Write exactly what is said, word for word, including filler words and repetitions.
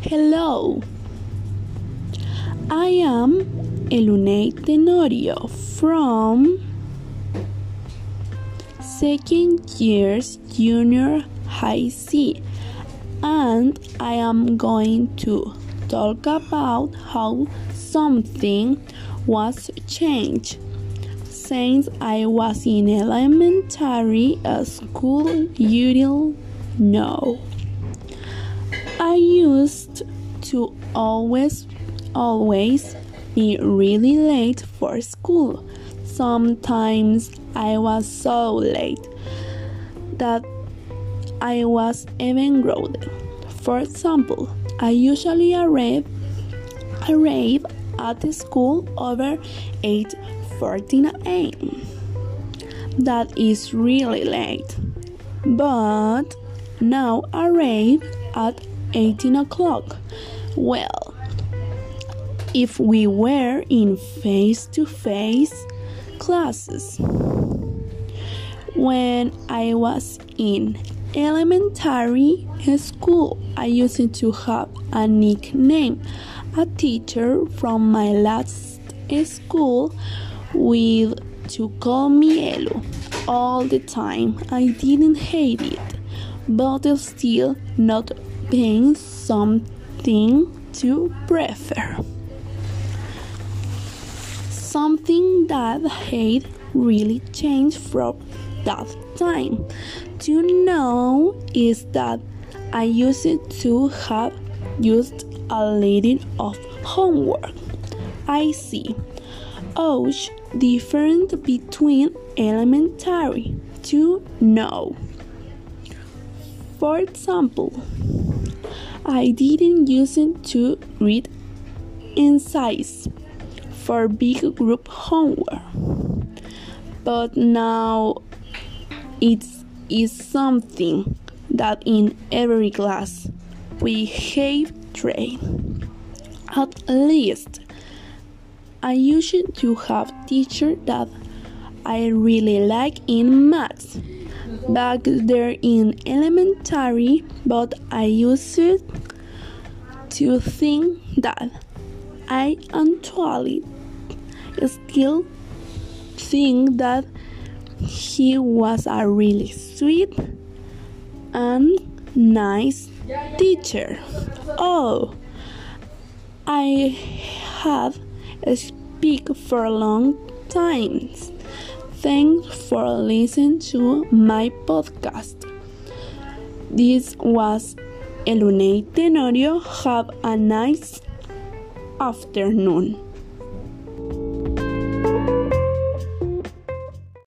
Hello, I am Elune Tenorio from second year's junior high C, and I am going to talk about how something was changed since I was in elementary school. You don't know. I used to always, always be really late for school. Sometimes I was so late that I was even grounded. For example, I usually arrive, arrive at the school over eight fourteen a m That is really late. But now arrive at eighteen o'clock. Well, if we were in face-to-face classes. When I was in elementary school, I used to have a nickname. A teacher from my last school would to call me Elu all the time. I didn't hate it, but still not being something to prefer. Something that hate really changed from that time to now is that I used to have just a little of homework. I see. Oh, different between elementary to now. For example, I didn't use it to read essays for big group homework, but now it is something that in every class we have trained. At least I used to have teachers that I really like in maths back there in elementary, but I used to think that I actually still think that he was a really sweet and nice teacher. Oh, I have speak for a long time. Thanks for listening to my podcast. This was Elune Tenorio. Have a nice afternoon.